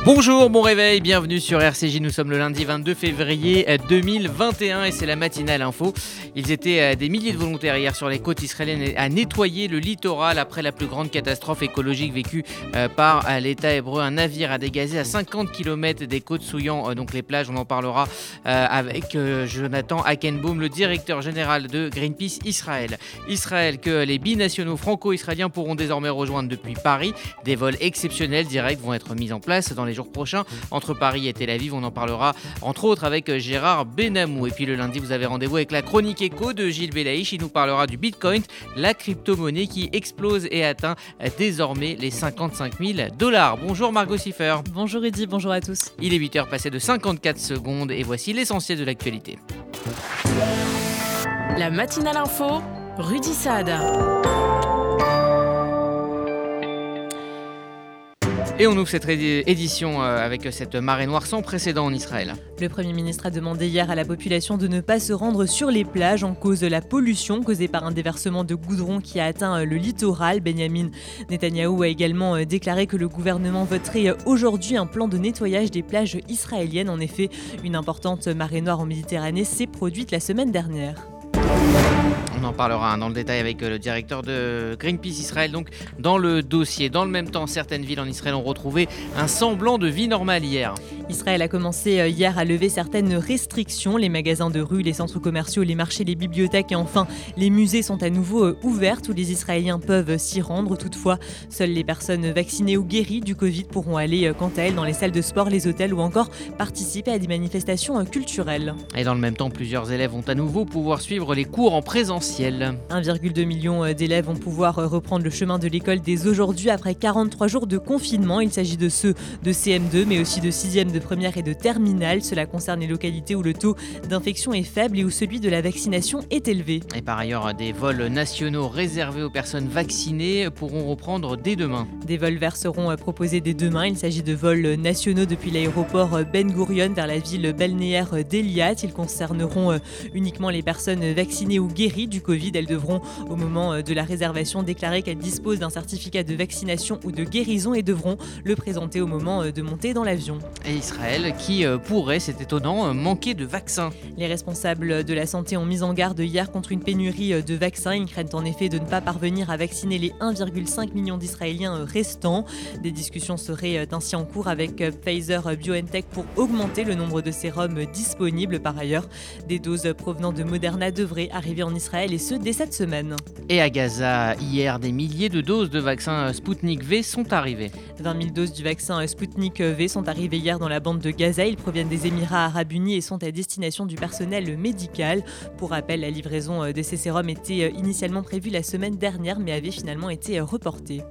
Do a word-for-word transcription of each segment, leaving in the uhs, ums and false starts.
Bonjour, bon réveil, bienvenue sur R C J, nous sommes le lundi vingt-deux février deux mille vingt et un et c'est la matinale info. Ils étaient des milliers de volontaires hier sur les côtes israéliennes à nettoyer le littoral après la plus grande catastrophe écologique vécue par l'État hébreu. Un navire a dégazé à cinquante kilomètres des côtes souillant donc les plages. On en parlera avec Jonathan Hackenbaum, le directeur général de Greenpeace Israël. Israël que les binationaux franco-israéliens pourront désormais rejoindre depuis Paris. Des vols exceptionnels directs vont être mis en place dans les jours prochains entre Paris et Tel Aviv. On en parlera entre autres avec Gérard Benamou. Et puis le lundi, vous avez rendez-vous avec la chronique éco de Gilles Belaïch. Il nous parlera du Bitcoin, la crypto-monnaie qui explose et atteint désormais les cinquante-cinq mille dollars. Bonjour Margot Siffer. Bonjour Eddy, bonjour à tous. Il est huit heures passées de cinquante-quatre secondes et voici l'essentiel de l'actualité. La matinale info, Rudy Saad. Et on ouvre cette édition avec cette marée noire sans précédent en Israël. Le Premier ministre a demandé hier à la population de ne pas se rendre sur les plages en cause de la pollution causée par un déversement de goudron qui a atteint le littoral. Benjamin Netanyahou a également déclaré que le gouvernement voterait aujourd'hui un plan de nettoyage des plages israéliennes. En effet, une importante marée noire en Méditerranée s'est produite la semaine dernière. On en parlera dans le détail avec le directeur de Greenpeace Israël, donc dans le dossier. Dans le même temps, certaines villes en Israël ont retrouvé un semblant de vie normale hier. Israël a commencé hier à lever certaines restrictions. Les magasins de rue, les centres commerciaux, les marchés, les bibliothèques et enfin les musées sont à nouveau ouverts. Tous les Israéliens peuvent s'y rendre. Toutefois, seules les personnes vaccinées ou guéries du Covid pourront aller quant à elles dans les salles de sport, les hôtels ou encore participer à des manifestations culturelles. Et dans le même temps, plusieurs élèves vont à nouveau pouvoir suivre les cours en présentiel. un virgule deux million d'élèves vont pouvoir reprendre le chemin de l'école dès aujourd'hui après quarante-trois jours de confinement. Il s'agit de ceux de C M deux mais aussi de sixième, de première et de terminale. Cela concerne les localités où le taux d'infection est faible et où celui de la vaccination est élevé. Et par ailleurs, des vols nationaux réservés aux personnes vaccinées pourront reprendre dès demain. Des vols verts seront proposés dès demain. Il s'agit de vols nationaux depuis l'aéroport Ben Gurion vers la ville balnéaire d'Eliat. Ils concerneront uniquement les personnes vaccinées ou guéries du Covid. Elles devront, au moment de la réservation, déclarer qu'elles disposent d'un certificat de vaccination ou de guérison et devront le présenter au moment de monter dans l'avion. Et Israël qui pourrait, c'est étonnant, manquer de vaccins. Les responsables de la santé ont mis en garde hier contre une pénurie de vaccins. Ils craignent en effet de ne pas parvenir à vacciner les un virgule cinq million d'Israéliens restants. Des discussions seraient ainsi en cours avec Pfizer-BioNTech pour augmenter le nombre de sérums disponibles. Par ailleurs, des doses provenant de Moderna devraient arriver en Israël et ce dès cette semaine. Et à Gaza, hier, des milliers de doses de vaccin Sputnik V sont arrivées. vingt mille doses du vaccin Sputnik V sont arrivées hier dans la bande de Gaza. Ils proviennent des Émirats arabes unis et sont à destination du personnel médical. Pour rappel, la livraison de ces sérums était initialement prévue la semaine dernière mais avait finalement été reportée.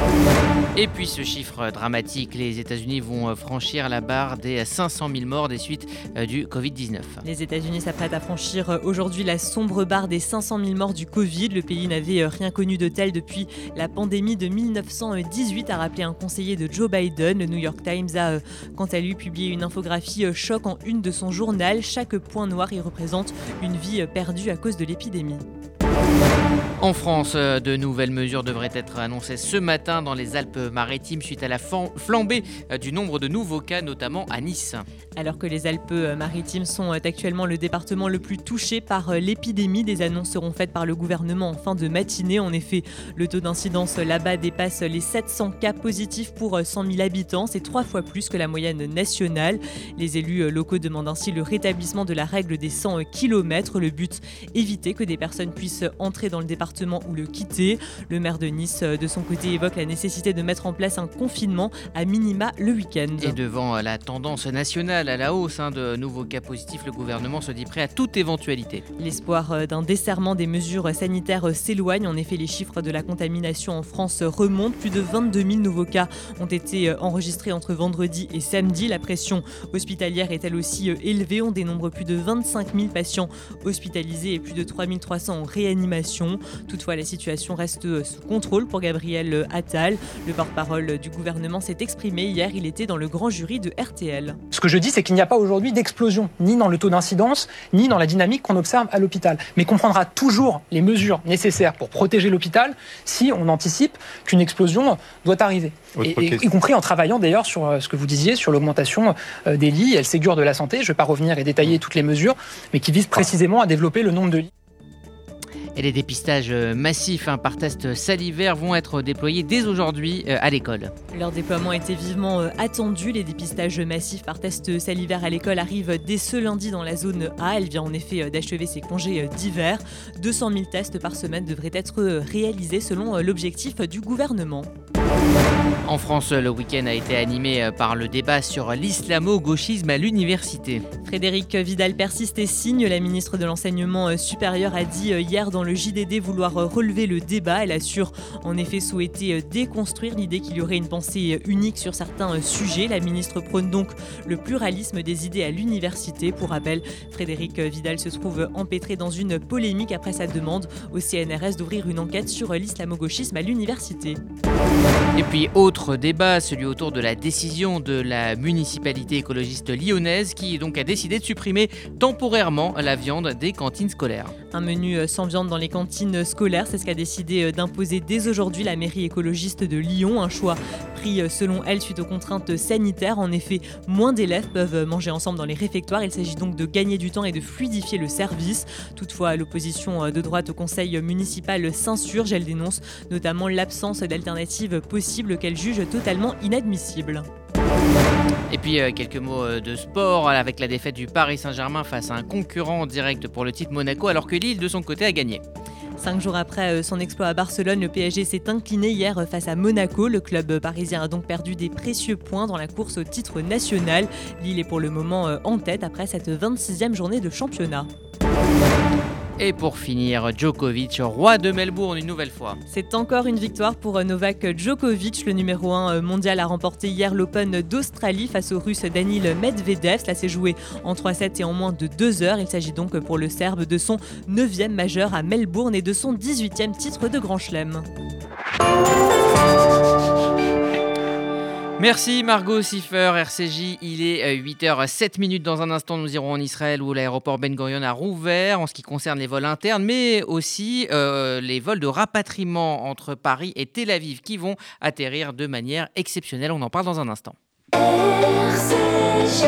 Et puis ce chiffre dramatique, les États-Unis vont franchir la barre des cinq cent mille morts des suites du covid dix-neuf. Les États-Unis s'apprêtent à franchir aujourd'hui la sombre barre des cinq cent mille morts du Covid. Le pays n'avait rien connu de tel depuis la pandémie de mille neuf cent dix-huit, a rappelé un conseiller de Joe Biden. Le New York Times a, quant à lui, publié une infographie choc en une de son journal. Chaque point noir y représente une vie perdue à cause de l'épidémie. En France, de nouvelles mesures devraient être annoncées ce matin dans les Alpes-Maritimes suite à la flambée du nombre de nouveaux cas, notamment à Nice. Alors que les Alpes-Maritimes sont actuellement le département le plus touché par l'épidémie, des annonces seront faites par le gouvernement en fin de matinée. En effet, le taux d'incidence là-bas dépasse les sept cents cas positifs pour cent mille habitants. C'est trois fois plus que la moyenne nationale. Les élus locaux demandent ainsi le rétablissement de la règle des cent kilomètres. Le but, éviter que des personnes puissent entrer dans le département ou le quitter. Le maire de Nice, de son côté, évoque la nécessité de mettre en place un confinement à minima le week-end. Et devant la tendance nationale à la hausse hein, de nouveaux cas positifs, le gouvernement se dit prêt à toute éventualité. L'espoir d'un desserrement des mesures sanitaires s'éloigne. En effet, les chiffres de la contamination en France remontent. Plus de vingt-deux mille nouveaux cas ont été enregistrés entre vendredi et samedi. La pression hospitalière est elle aussi élevée. On dénombre plus de vingt-cinq mille patients hospitalisés et plus de trois mille trois cents en réanimation. Toutefois, la situation reste sous contrôle pour Gabriel Attal. Le porte-parole du gouvernement s'est exprimé hier, il était dans le grand jury de R T L. Ce que je dis, c'est qu'il n'y a pas aujourd'hui d'explosion, ni dans le taux d'incidence, ni dans la dynamique qu'on observe à l'hôpital. Mais qu'on prendra toujours les mesures nécessaires pour protéger l'hôpital si on anticipe qu'une explosion doit arriver. Et, et, y compris en travaillant d'ailleurs sur ce que vous disiez, sur l'augmentation des lits et le Ségur de la santé. Je ne vais pas revenir et détailler toutes les mesures, mais qui visent précisément à développer le nombre de lits. Et les dépistages massifs hein, par test salivaire vont être déployés dès aujourd'hui euh, à l'école. Leur déploiement était vivement euh, attendu. Les dépistages massifs par test salivaire à l'école arrivent dès ce lundi dans la zone A. Elle vient en effet euh, d'achever ses congés euh, d'hiver. deux cent mille tests par semaine devraient être euh, réalisés selon euh, l'objectif du gouvernement. En France, le week-end a été animé par le débat sur l'islamo-gauchisme à l'université. Frédérique Vidal persiste et signe. La ministre de l'Enseignement supérieur a dit hier dans le J D D vouloir relever le débat. Elle assure en effet souhaiter déconstruire l'idée qu'il y aurait une pensée unique sur certains sujets. La ministre prône donc le pluralisme des idées à l'université. Pour rappel, Frédérique Vidal se trouve empêtrée dans une polémique après sa demande au C N R S d'ouvrir une enquête sur l'islamo-gauchisme à l'université. Et puis autre débat, celui autour de la décision de la municipalité écologiste lyonnaise qui donc a décidé de supprimer temporairement la viande des cantines scolaires. Un menu sans viande dans les cantines scolaires, c'est ce qu'a décidé d'imposer dès aujourd'hui la mairie écologiste de Lyon. Un choix pris selon elle suite aux contraintes sanitaires. En effet, moins d'élèves peuvent manger ensemble dans les réfectoires. Il s'agit donc de gagner du temps et de fluidifier le service. Toutefois, l'opposition de droite au conseil municipal s'insurge. Elle dénonce notamment l'absence d'alternatives possibles qu'elle juge totalement inadmissibles. Et puis euh, quelques mots euh, de sport avec la défaite du Paris Saint-Germain face à un concurrent direct pour le titre Monaco alors que Lille de son côté a gagné. Cinq jours après son exploit à Barcelone, le P S G s'est incliné hier face à Monaco. Le club parisien a donc perdu des précieux points dans la course au titre national. Lille est pour le moment en tête après cette vingt-sixième journée de championnat. Et pour finir, Djokovic, roi de Melbourne une nouvelle fois. C'est encore une victoire pour Novak Djokovic. Le numéro un mondial a remporté hier l'Open d'Australie face au Russe Daniil Medvedev. Cela s'est joué en trois sept et en moins de deux heures. Il s'agit donc pour le Serbe de son neuvième majeur à Melbourne et de son dix-huitième titre de Grand Chelem. Merci Margot Siffer, R C J, il est huit heures sept minutes. Dans un instant, nous irons en Israël où l'aéroport Ben Gurion a rouvert en ce qui concerne les vols internes, mais aussi euh, les vols de rapatriement entre Paris et Tel Aviv qui vont atterrir de manière exceptionnelle. On en parle dans un instant. R C J.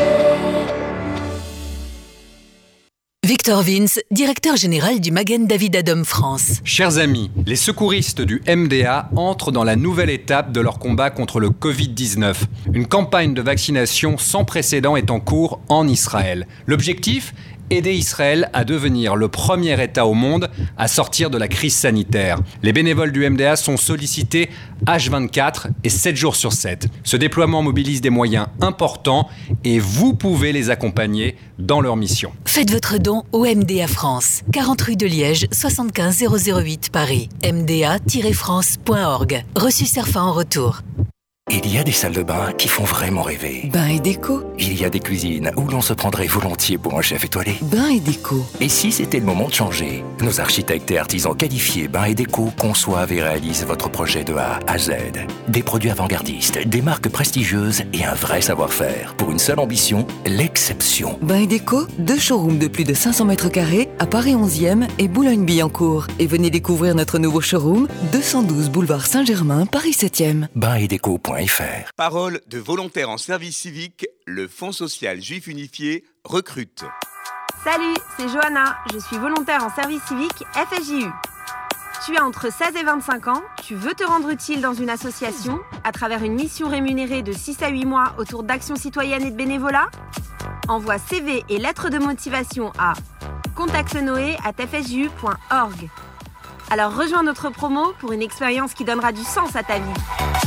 Victor Vince, directeur général du Magen David Adom France. Chers amis, les secouristes du M D A entrent dans la nouvelle étape de leur combat contre le covid dix-neuf. Une campagne de vaccination sans précédent est en cours en Israël. L'objectif ? Aider Israël à devenir le premier État au monde à sortir de la crise sanitaire. Les bénévoles du M D A sont sollicités H vingt-quatre et sept jours sur sept. Ce déploiement mobilise des moyens importants et vous pouvez les accompagner dans leur mission. Faites votre don au M D A France, quarante rue de Liège, soixante-quinze zéro zéro huit Paris, m d a tiret france point org. Reçu Cerfa en retour. Il y a des salles de bain qui font vraiment rêver. Bain et déco. Il y a des cuisines où l'on se prendrait volontiers pour un chef étoilé. Bain et déco. Et si c'était le moment de changer ? Nos architectes et artisans qualifiés Bain et déco conçoivent et réalisent votre projet de A à Z. Des produits avant-gardistes, des marques prestigieuses et un vrai savoir-faire. Pour une seule ambition, l'exception. Bain et déco, deux showrooms de plus de cinq cents mètres carrés à Paris onzième et Boulogne-Billancourt. Et venez découvrir notre nouveau showroom, deux cent douze boulevard Saint-Germain, Paris septième. bain et déco point f r. Parole de volontaires en service civique, le Fonds social juif unifié recrute. Salut, c'est Johanna, je suis volontaire en service civique F S J U. Tu as entre seize et vingt-cinq ans, tu veux te rendre utile dans une association à travers une mission rémunérée de six à huit mois autour d'actions citoyennes et de bénévolat ? Envoie C V et lettres de motivation à contact noé arobase f s j u point org. Alors rejoins notre promo pour une expérience qui donnera du sens à ta vie.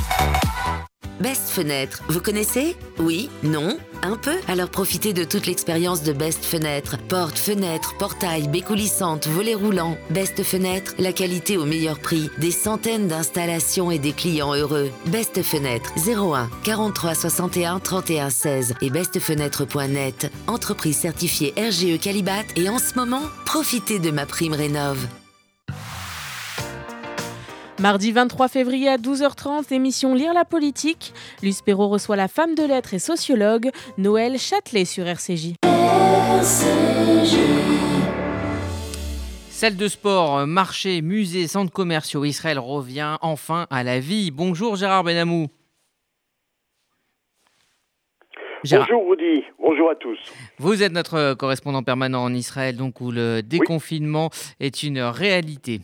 Best Fenêtre, vous connaissez ? Oui ? Non ? Un peu ? Alors profitez de toute l'expérience de Best Fenêtre. Portes, fenêtres, portails, baies coulissantes, volets roulants. Best Fenêtre, la qualité au meilleur prix. Des centaines d'installations et des clients heureux. Best Fenêtre, zéro un quarante-trois soixante et un trente et un seize et best fenêtre point net. Entreprise certifiée R G E Qualibat et en ce moment, profitez de ma prime rénov'. Mardi vingt-trois février à douze heures trente, émission Lire la politique. Luce Perrault reçoit la femme de lettres et sociologue Noël Châtelet sur R C J. R C J. Salle de sport, marché, musée, centres commerciaux, Israël revient enfin à la vie. Bonjour Gérard Benamou. Gérard. Bonjour Rudy, bonjour à tous. Vous êtes notre correspondant permanent en Israël, donc où le déconfinement oui. est une réalité.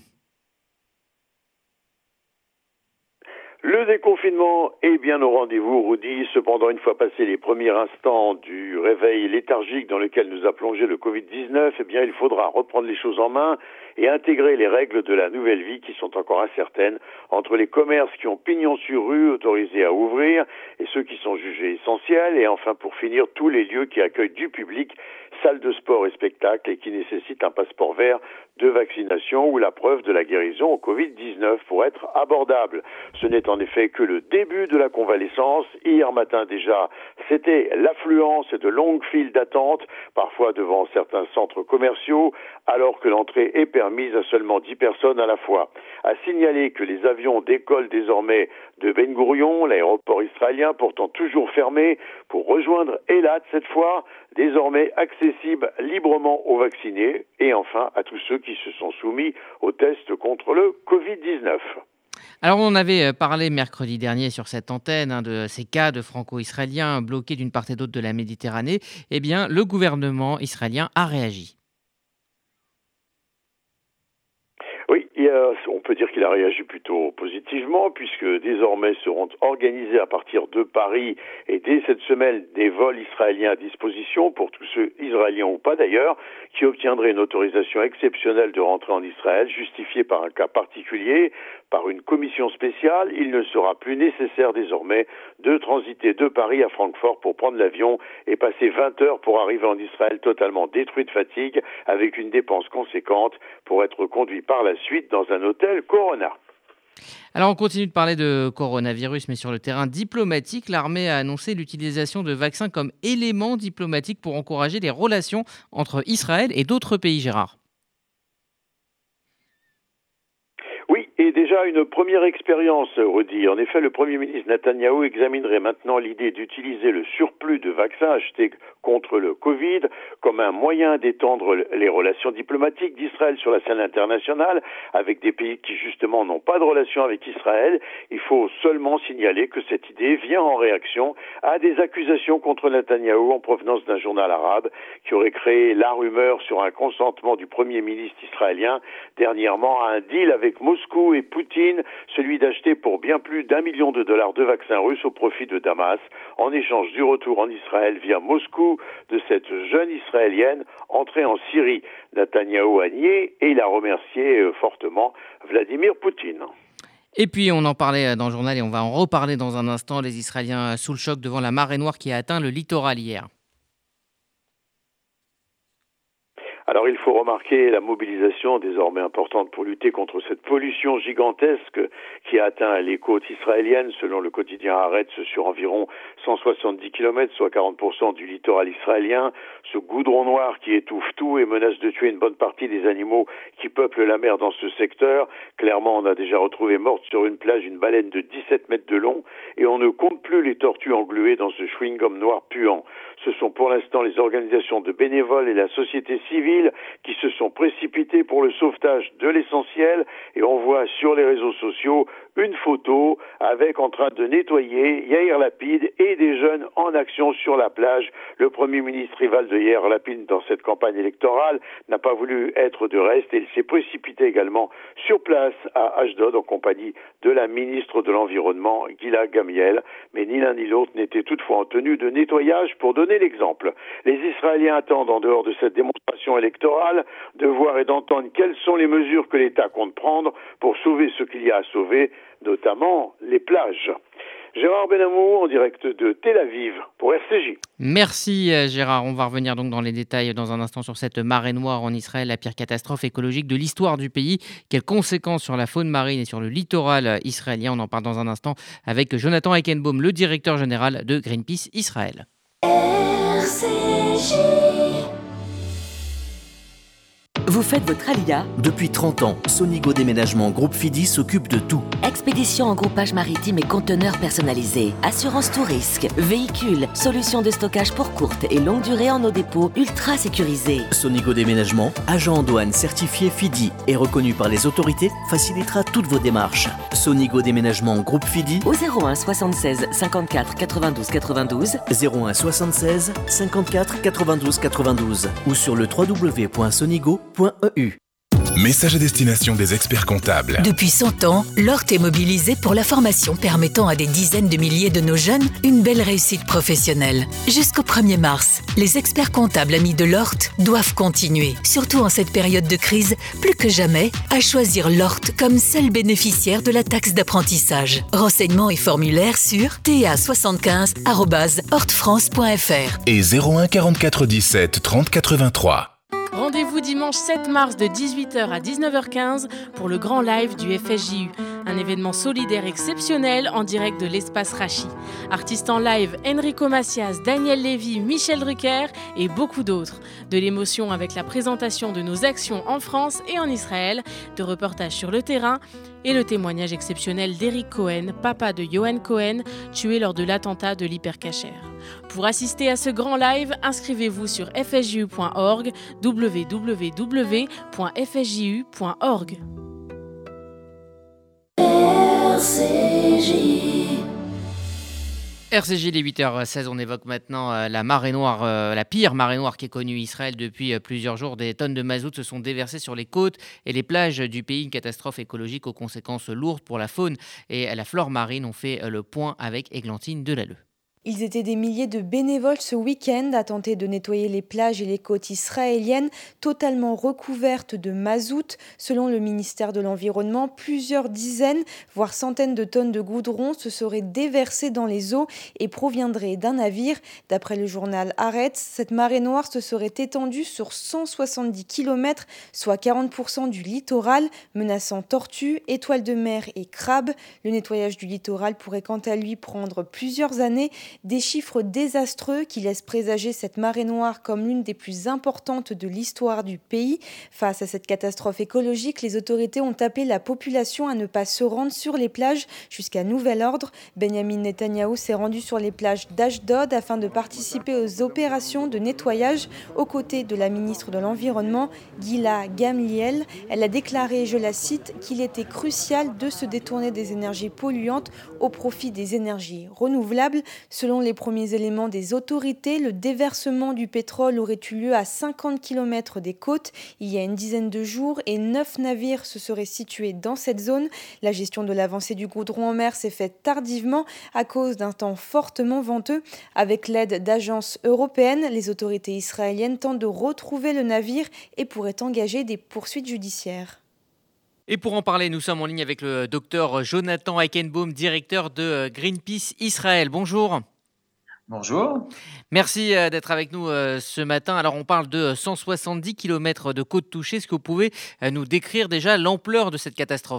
Le déconfinement est bien au rendez-vous, Rudy. Cependant, une fois passés les premiers instants du réveil léthargique dans lequel nous a plongé le covid dix-neuf, eh bien, il faudra reprendre les choses en main et intégrer les règles de la nouvelle vie qui sont encore incertaines entre les commerces qui ont pignon sur rue, autorisés à ouvrir, et ceux qui sont jugés essentiels, et enfin, pour finir, tous les lieux qui accueillent du public, salles de sport et spectacles, et qui nécessitent un passeport vert de vaccination ou la preuve de la guérison au covid dix-neuf pour être abordable. Ce n'est en effet que le début de la convalescence. Hier matin déjà, c'était l'affluence et de longues files d'attente, parfois devant certains centres commerciaux, alors que l'entrée est permise à seulement dix personnes à la fois. À signaler que les avions décollent désormais de Ben Gourion, l'aéroport israélien pourtant toujours fermé, pour rejoindre Eilat cette fois, désormais accessible librement aux vaccinés, et enfin à tous ceux qui se sont soumis aux tests contre le covid dix-neuf. Alors on avait parlé mercredi dernier sur cette antenne hein, de ces cas de franco-israéliens bloqués d'une part et d'autre de la Méditerranée. Eh bien, le gouvernement israélien a réagi. Oui, a, on peut dire qu'il a réagi plutôt positivement puisque désormais seront organisés à partir de Paris et dès cette semaine des vols israéliens à disposition pour tous ceux israéliens ou pas d'ailleurs qui obtiendraient une autorisation exceptionnelle de rentrer en Israël justifiée par un cas particulier, par une commission spéciale. Il ne sera plus nécessaire désormais de transiter de Paris à Francfort pour prendre l'avion et passer vingt heures pour arriver en Israël totalement détruit de fatigue avec une dépense conséquente pour être conduit par la suite dans un hôtel Corona. Alors on continue de parler de coronavirus, mais sur le terrain diplomatique, l'armée a annoncé l'utilisation de vaccins comme élément diplomatique pour encourager les relations entre Israël et d'autres pays, Gérard. Et déjà une première expérience, Rudy. En effet, le Premier ministre Netanyahou examinerait maintenant l'idée d'utiliser le surplus de vaccins achetés contre le Covid comme un moyen d'étendre les relations diplomatiques d'Israël sur la scène internationale avec des pays qui justement n'ont pas de relations avec Israël. Il faut seulement signaler que cette idée vient en réaction à des accusations contre Netanyahou en provenance d'un journal arabe qui aurait créé la rumeur sur un consentement du Premier ministre israélien dernièrement à un deal avec Moscou et Poutine, celui d'acheter pour bien plus d'un million de dollars de vaccins russes au profit de Damas, en échange du retour en Israël via Moscou de cette jeune Israélienne entrée en Syrie. Netanyahou a nié et il a remercié fortement Vladimir Poutine. Et puis on en parlait dans le journal et on va en reparler dans un instant, les Israéliens sous le choc devant la marée noire qui a atteint le littoral hier. Alors il faut remarquer la mobilisation désormais importante pour lutter contre cette pollution gigantesque qui a atteint les côtes israéliennes. Selon le quotidien Haaretz, sur environ cent soixante-dix kilomètres, soit quarante pour cent du littoral israélien. Ce goudron noir qui étouffe tout et menace de tuer une bonne partie des animaux qui peuplent la mer dans ce secteur. Clairement, on a déjà retrouvé morte sur une plage une baleine de dix-sept mètres de long et on ne compte plus les tortues engluées dans ce chewing-gum noir puant. Ce sont pour l'instant les organisations de bénévoles et la société civile qui se sont précipités pour le sauvetage de l'essentiel et on voit sur les réseaux sociaux une photo avec en train de nettoyer Yair Lapid et des jeunes en action sur la plage. Le Premier ministre rival de Yair Lapid dans cette campagne électorale n'a pas voulu être de reste et il s'est précipité également sur place à Ashdod en compagnie de la ministre de l'Environnement Gila Gamiel, mais ni l'un ni l'autre n'était toutefois en tenue de nettoyage pour donner l'exemple. Les Israéliens attendent en dehors de cette démonstration électorale de voir et d'entendre quelles sont les mesures que l'État compte prendre pour sauver ce qu'il y a à sauver, notamment les plages. Gérard Benamou en direct de Tel Aviv pour R C J. Merci Gérard. On va revenir donc dans les détails dans un instant sur cette marée noire en Israël, la pire catastrophe écologique de l'histoire du pays. Quelles conséquences sur la faune marine et sur le littoral israélien? On en parle dans un instant avec Jonathan Eichenbaum, le directeur général de Greenpeace Israël. R C J. Vous faites votre alia? Depuis trente ans, Sonigo Déménagement Groupe Fidi s'occupe de tout. Expédition en groupage maritime et conteneurs personnalisés, assurance tout risque, véhicules, solutions de stockage pour courte et longue durée en nos dépôts ultra sécurisés. Sonigo Déménagement, agent en douane certifié Fidi et reconnu par les autorités, facilitera toutes vos démarches. Sonigo Déménagement Groupe Fidi au zéro un soixante-seize cinquante-quatre quatre-vingt-douze quatre-vingt-douze, zéro un soixante-seize cinquante-quatre quatre-vingt-douze quatre-vingt-douze ou sur le w w w point sonigo point e u. Message à destination des experts comptables. Depuis cent ans, Lort est mobilisé pour la formation permettant à des dizaines de milliers de nos jeunes une belle réussite professionnelle. Jusqu'au premier mars, les experts comptables amis de Lort doivent continuer, surtout en cette période de crise, plus que jamais, à choisir Lort comme seul bénéficiaire de la taxe d'apprentissage. Renseignements et formulaires sur t a soixante-quinze arobase hortefrance point f r et zéro un quarante-quatre dix-sept trente quatre-vingt-trois. Rendez-vous dimanche sept mars de dix-huit heures à dix-neuf heures quinze pour le grand live du F S J U, un événement solidaire exceptionnel en direct de l'espace Rachi. Artistes en live, Enrico Macias, Daniel Lévy, Michel Drucker et beaucoup d'autres. De l'émotion avec la présentation de nos actions en France et en Israël, de reportages sur le terrain et le témoignage exceptionnel d'Eric Cohen, papa de Johan Cohen, tué lors de l'attentat de l'Hypercacher. Pour assister à ce grand live, inscrivez-vous sur f s j u point org, w w w point f s j u point org. R C J. R C J, les huit heures seize, on évoque maintenant euh, la marée noire, euh, la pire marée noire qui est connue Israël depuis euh, plusieurs jours. Des tonnes de mazout se sont déversées sur les côtes et les plages du pays. Une catastrophe écologique aux conséquences lourdes pour la faune et la flore marine. On fait euh, le point avec Églantine Delalleux. Ils étaient des milliers de bénévoles ce week-end à tenter de nettoyer les plages et les côtes israéliennes totalement recouvertes de mazout. Selon le ministère de l'Environnement, plusieurs dizaines, voire centaines de tonnes de goudron se seraient déversées dans les eaux et proviendraient d'un navire. D'après le journal Haaretz, cette marée noire se serait étendue sur cent soixante-dix kilomètres, soit quarante pour cent du littoral, menaçant tortues, étoiles de mer et crabes. Le nettoyage du littoral pourrait quant à lui prendre plusieurs années. Des chiffres désastreux qui laissent présager cette marée noire comme l'une des plus importantes de l'histoire du pays. Face à cette catastrophe écologique, les autorités ont appelé la population à ne pas se rendre sur les plages jusqu'à nouvel ordre. Benjamin Netanyahou s'est rendu sur les plages d'Ashdod afin de participer aux opérations de nettoyage aux côtés de la ministre de l'Environnement, Gila Gamliel. Elle a déclaré, je la cite, qu'il était crucial de se détourner des énergies polluantes au profit des énergies renouvelables. Selon les premiers éléments des autorités, le déversement du pétrole aurait eu lieu à cinquante kilomètres des côtes il y a une dizaine de jours et neuf navires se seraient situés dans cette zone. La gestion de l'avancée du goudron en mer s'est faite tardivement à cause d'un temps fortement venteux. Avec l'aide d'agences européennes, les autorités israéliennes tentent de retrouver le navire et pourraient engager des poursuites judiciaires. Et pour en parler, nous sommes en ligne avec le docteur Jonathan Eichenbaum, directeur de Greenpeace Israël. Bonjour. Bonjour. Merci d'être avec nous ce matin. Alors, on parle de cent soixante-dix kilomètres de côtes touchées. Est-ce que vous pouvez nous décrire déjà l'ampleur de cette catastrophe ?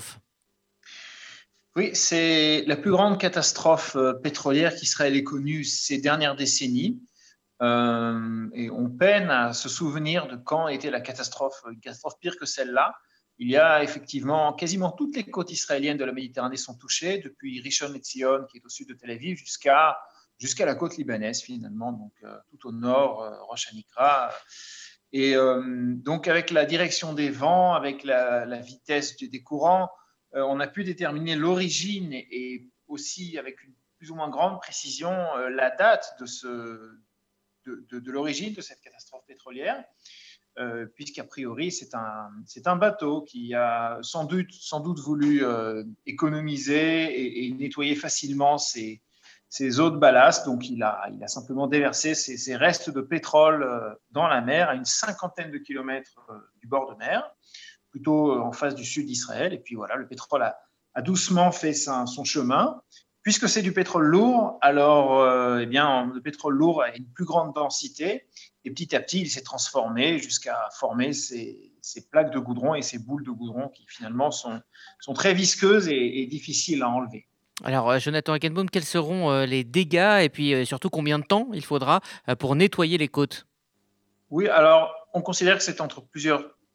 Oui, c'est la plus grande catastrophe pétrolière qu'Israël ait connue ces dernières décennies. Euh, et on peine à se souvenir de quand était la catastrophe, une catastrophe pire que celle-là. Il y a effectivement quasiment toutes les côtes israéliennes de la Méditerranée sont touchées, depuis Rishon LeZion, qui est au sud de Tel Aviv, jusqu'à jusqu'à la côte libanaise finalement, donc euh, tout au nord, euh, Rosh Hanikra. Et euh, donc avec la direction des vents, avec la, la vitesse des courants, euh, on a pu déterminer l'origine et, et aussi avec une plus ou moins grande précision euh, la date de, ce, de, de, de l'origine de cette catastrophe pétrolière. Euh, puisqu'a priori, c'est un, c'est un bateau qui a sans doute, sans doute voulu euh, économiser et, et nettoyer facilement ses, ses eaux de ballast. Donc, il a, il a simplement déversé ses, ses restes de pétrole euh, dans la mer à une cinquantaine de kilomètres euh, du bord de mer, plutôt euh, en face du sud d'Israël. Et puis voilà, le pétrole a, a doucement fait sa, son chemin. Puisque c'est du pétrole lourd, alors euh, eh bien, le pétrole lourd a une plus grande densité et petit à petit, il s'est transformé jusqu'à former ces, ces plaques de goudron et ces boules de goudron qui finalement sont, sont très visqueuses et, et difficiles à enlever. Alors, Jonathan Eichenbaum, quels seront euh, les dégâts et puis euh, surtout combien de temps il faudra euh, pour nettoyer les côtes ? Oui, alors on considère que c'est entre plusieurs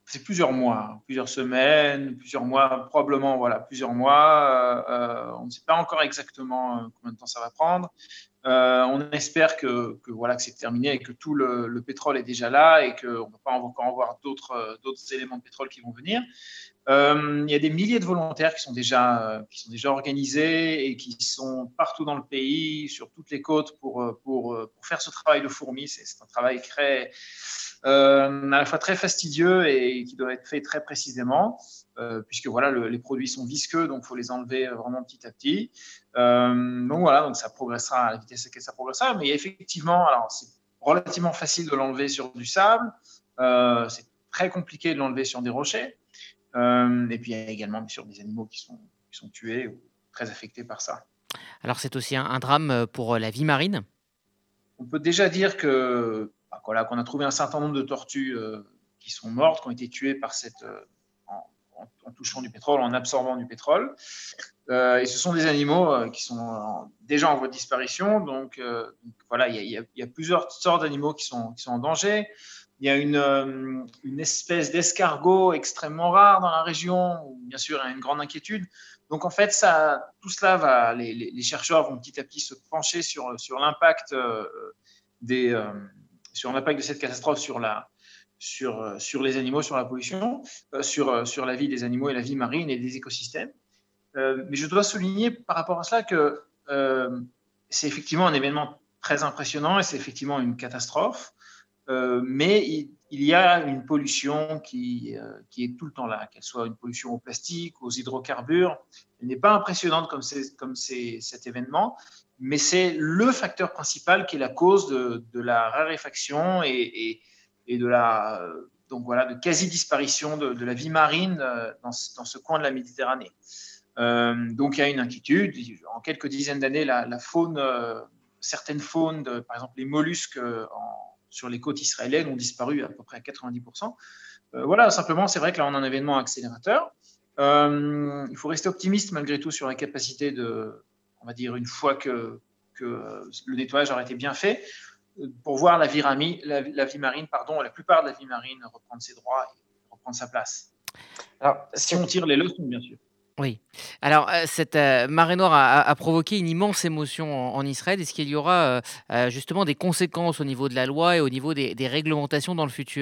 c'est plusieurs mois, plusieurs semaines, plusieurs mois, probablement voilà, plusieurs mois. Euh, on ne sait pas encore exactement combien de temps ça va prendre. Euh, on espère que, que, voilà, que c'est terminé et que tout le, le pétrole est déjà là et qu'on ne va pas encore avoir d'autres, d'autres éléments de pétrole qui vont venir. Euh, il y a des milliers de volontaires qui sont, déjà, qui sont déjà organisés et qui sont partout dans le pays, sur toutes les côtes, pour, pour, pour faire ce travail de fourmi. C'est, c'est un travail très, euh, à la fois très fastidieux et qui doit être fait très précisément. Euh, puisque voilà, le, les produits sont visqueux, donc il faut les enlever vraiment petit à petit. Euh, donc voilà, donc ça progressera à la vitesse à laquelle ça progressera. Mais effectivement, alors c'est relativement facile de l'enlever sur du sable. Euh, c'est très compliqué de l'enlever sur des rochers. Euh, et puis il y a également bien sûr des animaux qui sont, qui sont tués ou très affectés par ça. Alors c'est aussi un, un drame pour la vie marine. On peut déjà dire que bah, voilà, qu'on a trouvé un certain nombre de tortues euh, qui sont mortes, qui ont été tuées par cette euh, en touchant du pétrole, en absorbant du pétrole. Euh, et ce sont des animaux euh, qui sont en, déjà en voie de disparition. Donc, euh, donc voilà, il y, y, y a plusieurs sortes d'animaux qui sont, qui sont en danger. Il y a une, euh, une espèce d'escargot extrêmement rare dans la région, où bien sûr il y a une grande inquiétude. Donc en fait, ça, tout cela va, les, les, les chercheurs vont petit à petit se pencher sur, sur l'impact euh, des, euh, sur l'impact de cette catastrophe sur la Sur, sur les animaux, sur la pollution, euh, sur, sur la vie des animaux et la vie marine et des écosystèmes. Euh, mais je dois souligner par rapport à cela que euh, c'est effectivement un événement très impressionnant et c'est effectivement une catastrophe, euh, mais il, il y a une pollution qui, euh, qui est tout le temps là, qu'elle soit une pollution au plastique, aux hydrocarbures. Elle n'est pas impressionnante comme, c'est, comme c'est, cet événement, mais c'est le facteur principal qui est la cause de, de la raréfaction et, et et de la donc voilà de quasi-disparition de, de la vie marine dans ce, dans ce coin de la Méditerranée. Euh, donc il y a une inquiétude. En quelques dizaines d'années, la, la faune, euh, certaines faunes, de, par exemple les mollusques en, sur les côtes israéliennes ont disparu à peu près à quatre-vingt-dix pour cent. Euh, voilà, simplement, c'est vrai que là on a un événement accélérateur. Euh, il faut rester optimiste malgré tout sur la capacité de, on va dire une fois que, que le nettoyage aura été bien fait, pour voir la vie, rami, la, la vie marine, pardon, la plupart de la vie marine reprendre ses droits et reprendre sa place. Alors, si on tire les leçons, bien sûr. Oui. Alors, euh, cette euh, marée noire a, a provoqué une immense émotion en, en Israël. Est-ce qu'il y aura euh, justement des conséquences au niveau de la loi et au niveau des, des réglementations dans le futur ?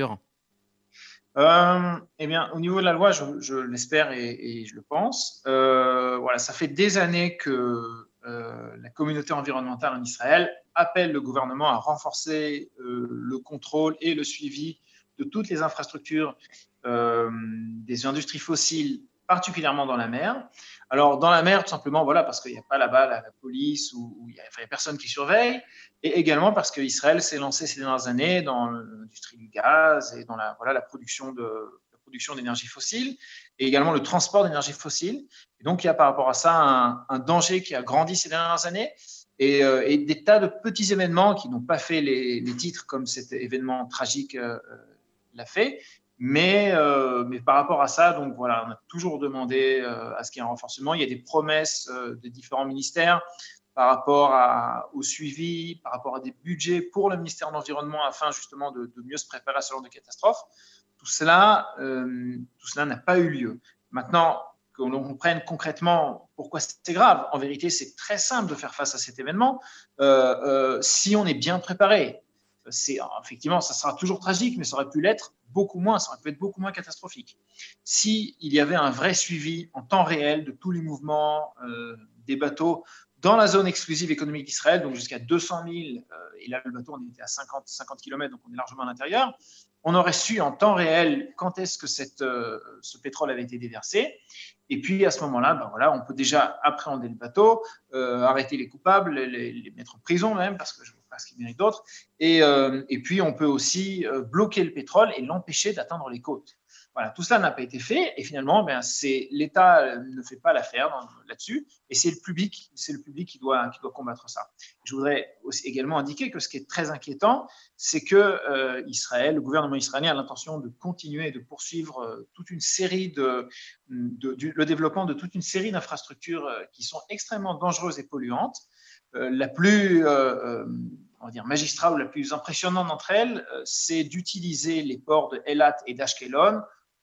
euh, Eh bien, au niveau de la loi, je, je l'espère et, et je le pense. Euh, voilà, ça fait des années que euh, la communauté environnementale en Israël appelle le gouvernement à renforcer euh, le contrôle et le suivi de toutes les infrastructures euh, des industries fossiles, particulièrement dans la mer. Alors, dans la mer, tout simplement, voilà, parce qu'il n'y a pas là-bas la, la police ou il n'y a, enfin, a personne qui surveille, et également parce qu'Israël s'est lancé ces dernières années dans l'industrie du gaz et dans la, voilà, la, production de, la production d'énergie fossile, et également le transport d'énergie fossile. Et donc, il y a par rapport à ça un, un danger qui a grandi ces dernières années. Et, euh, et des tas de petits événements qui n'ont pas fait les, les titres comme cet événement tragique euh, l'a fait. Mais, euh, mais par rapport à ça, donc voilà, on a toujours demandé euh, à ce qu'il y ait un renforcement. Il y a des promesses euh, des différents ministères par rapport à, au suivi, par rapport à des budgets pour le ministère de l'Environnement afin justement de, de mieux se préparer à ce genre de catastrophe. Tout cela, euh, tout cela n'a pas eu lieu. Maintenant, qu'on comprenne concrètement pourquoi c'est grave. En vérité, c'est très simple de faire face à cet événement euh, euh, si on est bien préparé. C'est, effectivement, ça sera toujours tragique, mais ça aurait pu l'être beaucoup moins, ça aurait pu être beaucoup moins catastrophique. S'il y avait un vrai suivi en temps réel de tous les mouvements euh, des bateaux dans la zone exclusive économique d'Israël, donc jusqu'à deux cent mille, euh, et là le bateau on était à cinquante, cinquante kilomètres, donc on est largement à l'intérieur, on aurait su en temps réel quand est-ce que cette, euh, ce pétrole avait été déversé. Et puis à ce moment-là, ben voilà, on peut déjà appréhender le bateau, euh, arrêter les coupables, les, les mettre en prison même, parce que je ne vois pas ce qu'il mérite d'autre. Et, euh, et puis on peut aussi euh, bloquer le pétrole et l'empêcher d'atteindre les côtes. Voilà, tout cela n'a pas été fait et finalement, ben, c'est, l'État ne fait pas l'affaire dans, là-dessus et c'est le public, c'est le public qui doit, qui doit combattre ça. Je voudrais aussi également indiquer que ce qui est très inquiétant, c'est que euh, Israël, le gouvernement israélien a l'intention de continuer et de poursuivre euh, toute une série de, de, du, le développement de toute une série d'infrastructures euh, qui sont extrêmement dangereuses et polluantes. Euh, la plus euh, on va dire magistrale ou la plus impressionnante d'entre elles, euh, c'est d'utiliser les ports de Eilat et d'Ashkelon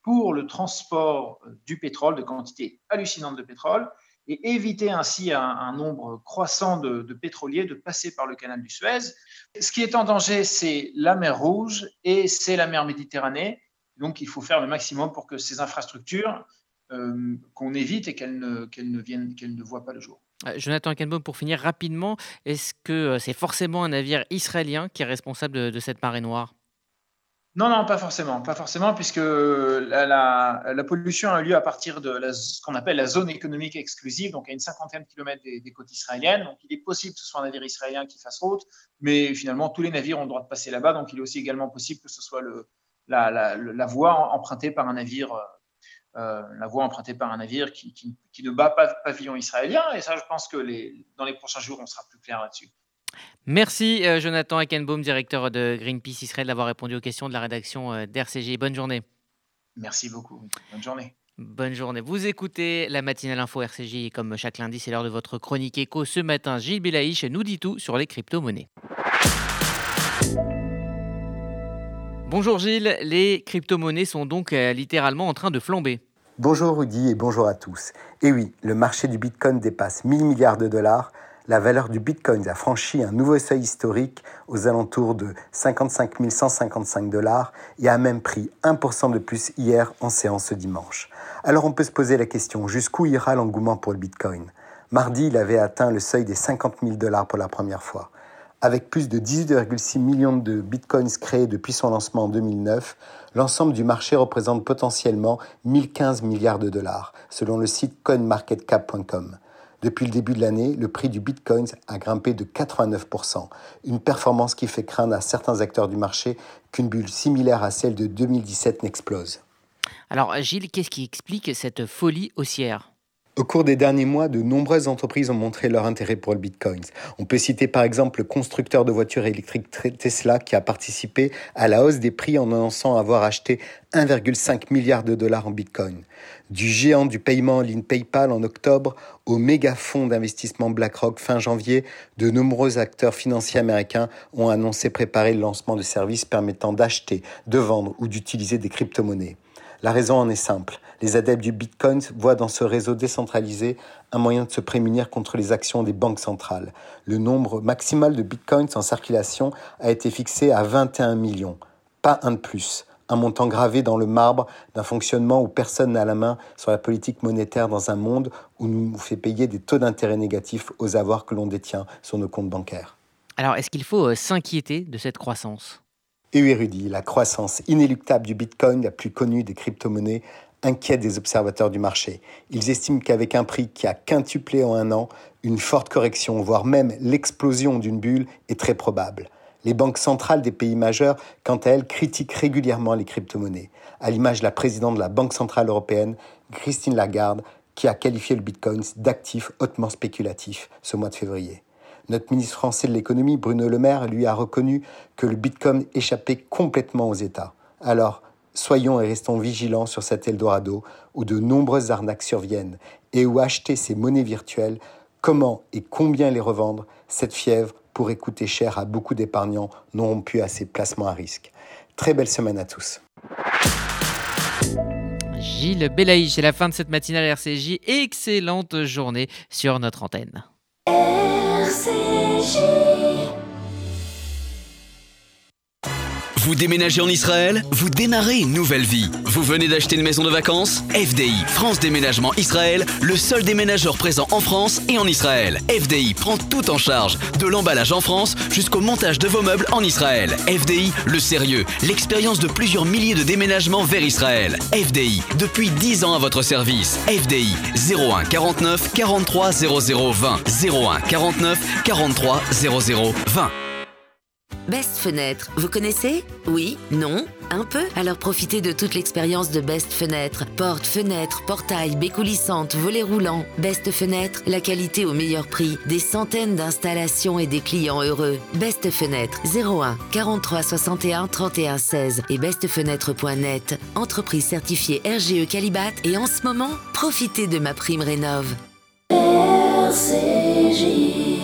pour le transport du pétrole, de quantités hallucinantes de pétrole, et éviter ainsi à un, un nombre croissant de, de pétroliers de passer par le canal du Suez. Ce qui est en danger, c'est la mer Rouge et c'est la mer Méditerranée. Donc, il faut faire le maximum pour que ces infrastructures, euh, qu'on évite et qu'elles ne, qu'elles ne viennent, qu'elles ne voient pas le jour. Euh, Jonathan Heckenbaum, pour finir rapidement, est-ce que c'est forcément un navire israélien qui est responsable de, de cette marée noire ? Non, non, pas forcément, pas forcément, puisque la, la, la pollution a eu lieu à partir de la, ce qu'on appelle la zone économique exclusive, donc à une cinquantaine de kilomètres des, des côtes israéliennes. Donc, il est possible que ce soit un navire israélien qui fasse route, mais finalement, tous les navires ont le droit de passer là-bas, donc il est aussi également possible que ce soit le, la, la, la voie empruntée par un navire, euh, la voie empruntée par un navire qui, qui, qui ne bat pas pavillon israélien. Et ça, je pense que les, dans les prochains jours, on sera plus clair là-dessus. Merci euh, Jonathan Heckenbaum, directeur de Greenpeace Israël, d'avoir répondu aux questions de la rédaction euh, d'R C J. Bonne journée. Merci beaucoup. Bonne journée. Bonne journée. Vous écoutez la matinale info R C J et comme chaque lundi, c'est l'heure de votre chronique éco. Ce matin, Gilles Belaïch nous dit tout sur les crypto-monnaies. Bonjour Gilles, les crypto-monnaies sont donc euh, littéralement en train de flamber. Bonjour Rudy et bonjour à tous. Et oui, le marché du Bitcoin dépasse mille milliards de dollars. La valeur du Bitcoin a franchi un nouveau seuil historique aux alentours de cinquante-cinq mille cent cinquante-cinq dollars et a même pris un pour cent de plus hier en séance ce dimanche. Alors on peut se poser la question, jusqu'où ira l'engouement pour le Bitcoin ? Mardi, il avait atteint le seuil des cinquante mille dollars pour la première fois. Avec plus de dix-huit virgule six millions de Bitcoins créés depuis son lancement en deux mille neuf, l'ensemble du marché représente potentiellement mille quinze milliards de dollars, selon le site coin market cap point com. Depuis le début de l'année, le prix du Bitcoin a grimpé de quatre-vingt-neuf pour cent, une performance qui fait craindre à certains acteurs du marché qu'une bulle similaire à celle de deux mille dix-sept n'explose. Alors Gilles, qu'est-ce qui explique cette folie haussière ? Au cours des derniers mois, de nombreuses entreprises ont montré leur intérêt pour le Bitcoin. On peut citer par exemple le constructeur de voitures électriques Tesla qui a participé à la hausse des prix en annonçant avoir acheté un virgule cinq milliard de dollars en Bitcoin. Du géant du paiement en ligne PayPal en octobre au méga fonds d'investissement BlackRock fin janvier, de nombreux acteurs financiers américains ont annoncé préparer le lancement de services permettant d'acheter, de vendre ou d'utiliser des crypto-monnaies. La raison en est simple. Les adeptes du Bitcoin voient dans ce réseau décentralisé un moyen de se prémunir contre les actions des banques centrales. Le nombre maximal de Bitcoins en circulation a été fixé à vingt et un millions, pas un de plus. Un montant gravé dans le marbre d'un fonctionnement où personne n'a la main sur la politique monétaire dans un monde où nous nous fait payer des taux d'intérêt négatifs aux avoirs que l'on détient sur nos comptes bancaires. Alors, est-ce qu'il faut euh, s'inquiéter de cette croissance ? Et oui, Rudy, la croissance inéluctable du Bitcoin, la plus connue des crypto-monnaies, inquiète des observateurs du marché. Ils estiment qu'avec un prix qui a quintuplé en un an, une forte correction, voire même l'explosion d'une bulle est très probable. Les banques centrales des pays majeurs, quant à elles, critiquent régulièrement les crypto-monnaies, à l'image de la présidente de la Banque centrale européenne, Christine Lagarde, qui a qualifié le Bitcoin d'actif hautement spéculatif ce mois de février. Notre ministre français de l'économie, Bruno Le Maire, lui a reconnu que le Bitcoin échappait complètement aux États. Alors, soyons et restons vigilants sur cet Eldorado où de nombreuses arnaques surviennent et où acheter ces monnaies virtuelles, comment et combien les revendre, cette fièvre pourrait coûter cher à beaucoup d'épargnants non rompus à ces placements à risque. Très belle semaine à tous. Gilles Belaïch, c'est la fin de cette matinale R C J. Excellente journée sur notre antenne. R C J. Vous déménagez en Israël? Vous démarrez une nouvelle vie. Vous venez d'acheter une maison de vacances? F D I, France Déménagement Israël, le seul déménageur présent en France et en Israël. F D I prend tout en charge, de l'emballage en France jusqu'au montage de vos meubles en Israël. F D I, le sérieux, l'expérience de plusieurs milliers de déménagements vers Israël. F D I, depuis dix ans à votre service. F D I, zéro un quarante-neuf quarante-trois zéro zéro vingt. zéro un quarante-neuf quarante-trois zéro zéro vingt. Best Fenêtre, vous connaissez? Oui? Non? Un peu? Alors profitez de toute l'expérience de Best Fenêtre. Portes, fenêtres, portails, baies coulissantes, volets roulants. Best Fenêtre, la qualité au meilleur prix. Des centaines d'installations et des clients heureux. Best Fenêtre, zéro un quarante-trois soixante et un trente et un seize et best fenêtre point net. Entreprise certifiée R G E Qualibat et en ce moment, profitez de ma prime rénov. R C J.